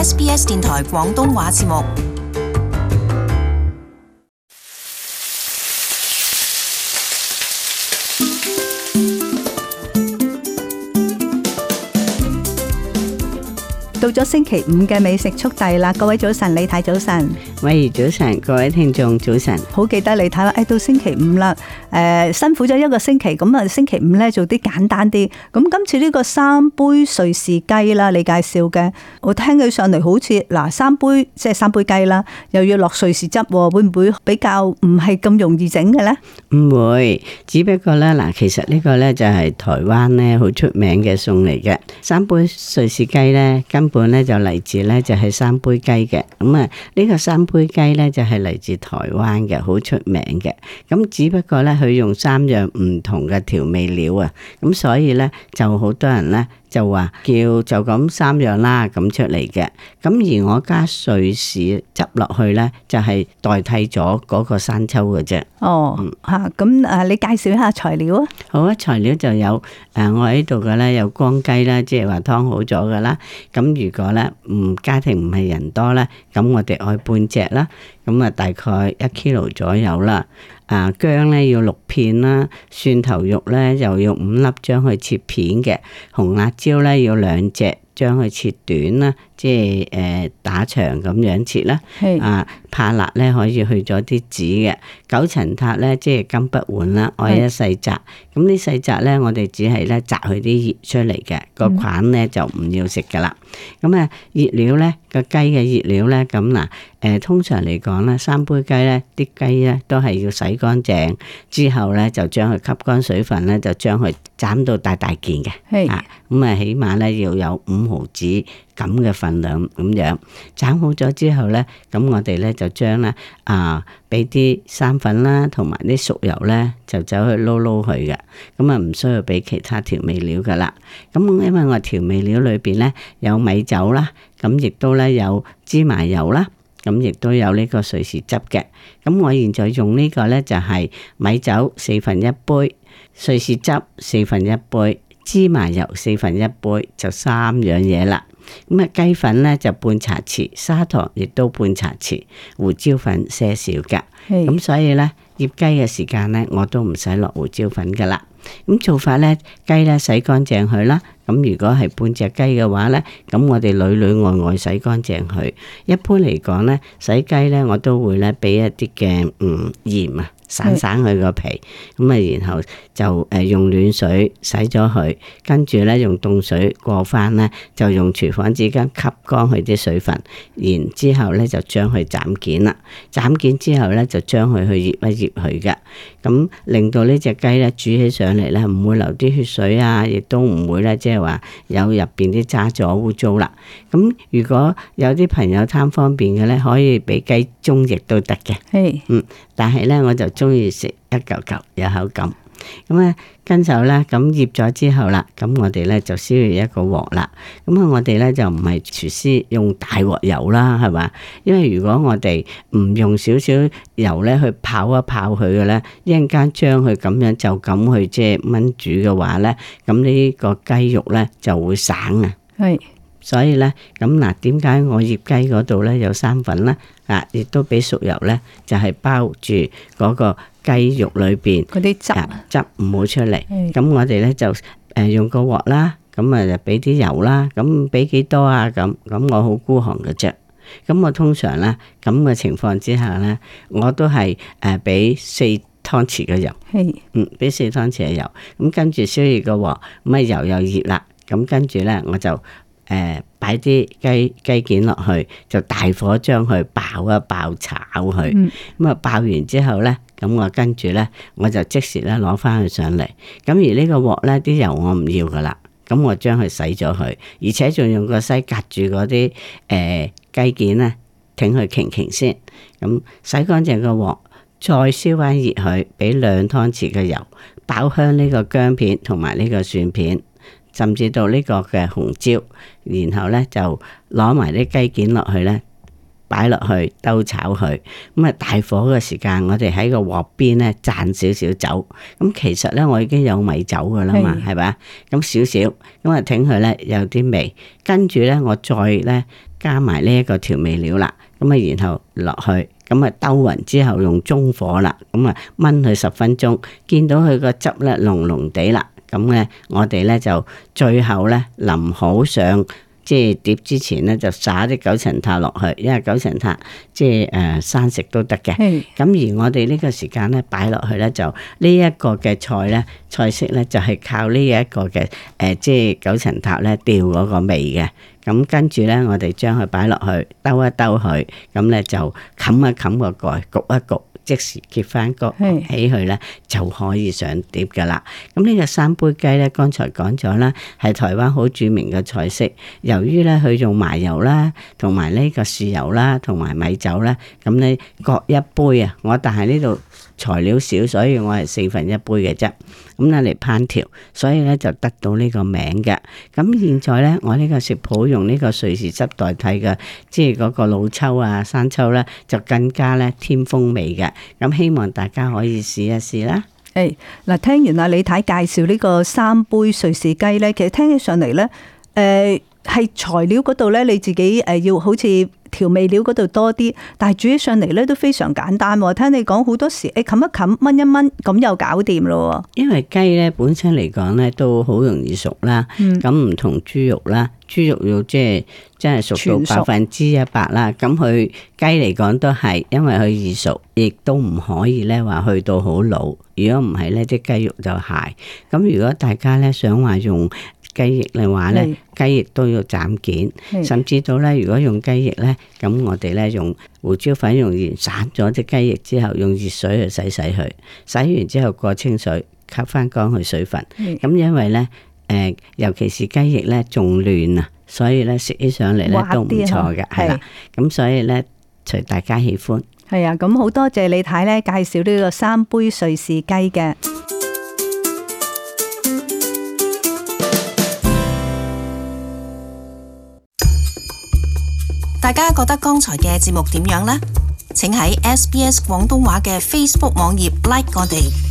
SBS 電台廣東話節目。 到咗星期五嘅美食速遞啦，各位早晨，李太早晨， 喂，早晨，各位聽眾早晨。 好記得李太話，到星期五啦，辛苦咗一個星期，咁啊星期五咧做啲簡單啲。咁今次呢個3杯瑞士雞啦，你介紹嘅，我聽起上嚟好似3杯即係3杯雞啦，又要落瑞士汁，會唔會比較唔係咁容易整嘅咧？ 唔會，只不過咧其實呢個咧就係台灣咧好出名嘅餸嚟嘅。3杯瑞士雞咧根本咧就嚟自咧就係3杯雞嘅。咁啊呢個3杯雞咧就係嚟自台灣嘅，好出名嘅。咁只不過咧佢用3樣唔同嘅調味料啊，咁所以咧就好多人咧就話叫就咁3樣啦咁出嚟嘅。咁而我加瑞士汁落去咧，就係代替咗嗰個生抽嘅啫。 哦，咁你介紹一下材料啊？ 好啊，材料就有我喺度嘅咧有光雞啦，即係話湯好咗噶啦。咁如果咧家庭唔係人多咧，咁我哋愛半隻啦。咁啊大概1 kilo 左右啦。薑咧要6片啦，蒜頭肉咧又要5粒，將佢切片嘅。紅辣椒咧要2隻，將佢切短啦，即係打長咁樣切啦。怕辣咧可以去咗啲籽嘅。九層塔咧即係金不換啦，愛一細紮。咁呢細紮咧，我哋只係咧摘佢啲葉出嚟嘅，個菌咧就唔要食噶啦。咁熱料咧個雞嘅熱料咧，咁通常嚟講咧3杯雞咧啲雞咧都係要洗乾淨之後咧就將佢吸乾水分咧，就將佢斬到大件嘅。咁起碼咧要有5毫子咁嘅份量咁樣斬好咗之後咧，咁我哋咧就將咧俾啲生粉啦，同埋啲熟油咧就走去撈佢嘅。咁唔需要俾其他調味料噶啦。咁因為我調味料裏邊咧有米酒啦，咁亦都咧有芝麻油啦，咁亦都有呢個瑞士汁嘅。咁我現在用呢個咧就係米酒1/4杯，瑞士汁1/4杯，芝麻油1/4杯，就3樣嘢啦。咁雞粉咧就半茶匙，砂糖亦都半茶匙，胡椒粉些少嘅。咁所以咧醃雞嘅時間咧我都唔使落胡椒粉噶啦。咁做法咧，雞咧洗乾淨佢啦。咁如果係半隻雞嘅話咧，咁我哋裏外洗乾淨佢。一般嚟講咧，洗雞咧我都會咧俾一啲嘅鹽啊，散佢個皮。咁然後就用暖水洗咗佢，跟住咧用凍水過翻咧，就用廚房紙巾吸乾佢啲水分，然之後咧就將佢斬件啦。斬件之後咧就將佢去醃一醃佢嘅。咁令到呢隻雞咧煮起上嚟咧唔會流啲血水啊，亦都唔會咧即係話有入邊啲渣咗污糟啦。咁如果有啲朋友貪方便嘅咧，可以俾雞中翼都得嘅。但係咧我就中意食一嚿嚿有口感。咁跟手咧咁醃咗之後啦，咁我哋咧就燒熱一個鑊啦。咁我哋咧就唔係廚師用大鑊油啦，係嘛？因為如果我哋唔用少少油咧去泡一泡佢嘅咧，一陣間將佢咁樣就咁去即係燜煮嘅話咧，咁呢個雞肉咧就會散啊。所以咧咁點解我醃雞嗰度咧有生粉咧？亦都俾熟油咧，就係包住嗰個雞肉裏邊嗰啲汁唔好出嚟。咁我哋咧就用個鑊啦，咁就俾啲油啦。咁俾幾多啊？咁我好孤寒嘅啫。咁我通常咧咁嘅情況之下咧，我都係俾4湯匙嘅油。俾4湯匙嘅油。咁跟住燒熱個鑊，咁油又熱啦。咁跟住咧我就擺啲雞件落去，就大火將佢爆一爆炒佢。咁爆完之後咧，咁我跟住咧我就即時咧攞翻佢上嚟。咁而呢個鑊咧啲油我唔要噶啦，咁我將佢洗咗佢，而且仲用個篩隔住嗰啲雞件咧，挺佢瓊先。咁洗乾淨個鑊，再燒翻熱佢，俾2湯匙嘅油，爆香呢個薑片同埋呢個蒜片。甚至到呢個嘅紅椒，然後咧就攞埋啲雞件落去咧， 擺落去兜炒佢。咁啊大火嘅時間，我哋喺個鑊邊咧灒少少酒。咁其實咧我已經有米酒噶啦嘛，係咪？咁少少，咁啊整佢咧有啲味，跟住咧我再咧加埋呢一個調味料啦。咁啊然後落去。咁啊兜勻之後用中火啦，咁啊燜佢10分鐘，見到佢個汁咧濃濃地啦，咁咧我哋咧就最後咧淋好上即係碟之前咧就撒啲九層塔落去，因為九層塔即係生食都得嘅。咁而我哋呢個時間咧擺落去咧就呢一個嘅菜咧菜式咧就係靠呢一個嘅即係九層塔咧調嗰個味嘅。咁跟住咧，我哋將佢擺落去，兜一兜佢，咁咧就冚一冚個蓋，焗一焗，即時揭翻個起佢咧，就可以上碟噶啦。咁呢個三杯雞咧，剛才講咗啦，係台灣好著名嘅菜式。由於咧佢用麻油啦，同埋呢個豉油啦，同埋米酒啦，咁咧各一杯啊。但係呢度材料少，所以我係1/4杯嘅啫。咁咧嚟烹調，所以咧就得到呢個名嘅。咁現在咧，我呢個食譜用呢個瑞士汁代替嘅，即係嗰個老抽啊、生抽咧，就更加咧添風味嘅。咁希望大家可以試一試啦。 嗱，聽完阿李太介紹呢個3杯瑞士雞咧，其實聽起上嚟咧，係材料嗰度咧，你自己要好似調味料嗰度多啲，但係煮起上嚟咧都非常簡單。聽你講好多時，冚一冚，燜一燜，咁又搞掂咯。因為雞咧本身嚟講咧都好容易熟啦，咁唔同豬肉啦，豬肉要即係真係熟到100%啦。咁佢雞嚟講都係，因為佢易熟，亦都唔可以咧話去到好老。如果唔係咧，啲雞肉就柴。咁如果大家咧想話用雞翼嘅話咧，雞翼都要斬件，甚至到咧，如果用雞翼咧，咁我哋咧用胡椒粉、用鹽散咗隻雞翼之後，用熱水去洗佢，洗完之後過清水，吸翻乾佢水分。咁因為咧，尤其是雞翼咧仲嫩啊，所以咧食起上嚟咧都唔錯嘅，係啦。咁所以咧，隨大家喜歡。係啊，咁好多謝李太咧介紹呢個3杯瑞士雞嘅。 大家覺得剛才嘅節目點樣呢？請喺SBS 廣東話嘅 Facebook 網頁 like 我哋。